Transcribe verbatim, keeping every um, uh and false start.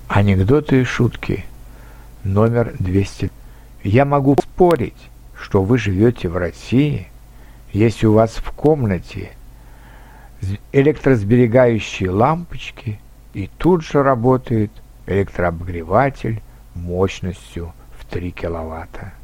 Анекдоты и шутки. Номер двести. Я могу спорить, что вы живете в России, если у вас в комнате электросберегающие лампочки и тут же работает электрообогреватель мощностью в три киловатта.